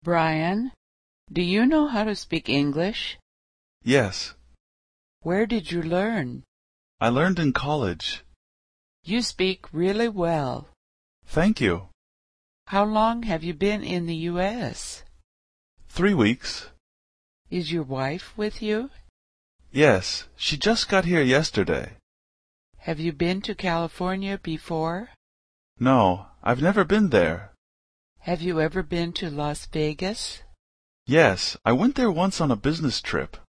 Brian, do you know how to speak English? Yes, Where did you learn? I learned in college. You speak really well. Thank you. How long have you been in the U.S.? 3 weeks. Is your wife with you? Yes, she just got here yesterday. Have you been to California before? No, I've never been there. Have you ever been to Las Vegas? Yes, I went there once on a business trip.